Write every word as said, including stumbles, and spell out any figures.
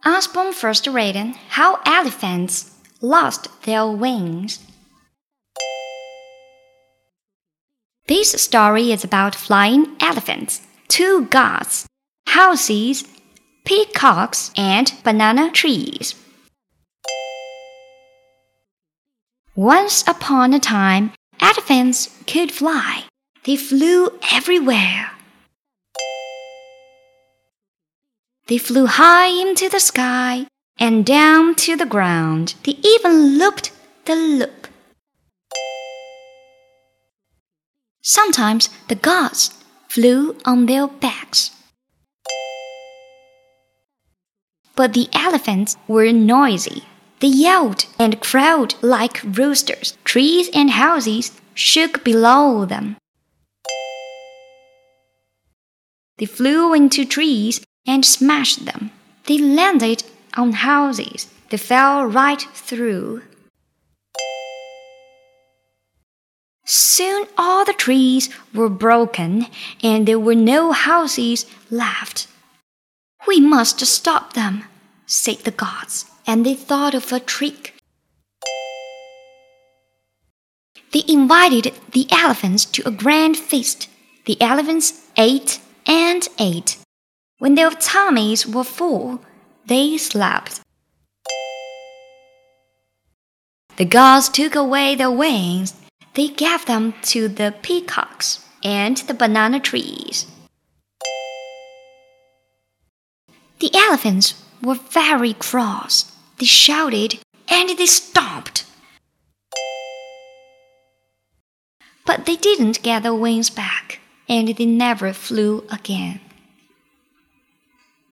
Osborne first read How Elephants Lost Their Wings. This story is about flying elephants, two gods, houses, peacocks, and banana trees. Once upon a time, elephants could fly. They flew everywhere. They flew high into the sky and down to the ground. They even looped the loop. Sometimes the gods flew on their backs. But the elephants were noisy. They yelled and crowed like roosters. Trees and houses shook below them. They flew into trees and smashed them. They landed on houses. They fell right through. Soon all the trees were broken, and there were no houses left. "We must stop them," said the gods, and they thought of a trick. They invited the elephants to a grand feast. The elephants ate and ate. When their tummies were full, they slept. The gods took away their wings. They gave them to the peacocks and the banana trees. The elephants were very cross. They shouted and they stomped. But they didn't get their wings back, and they never flew again.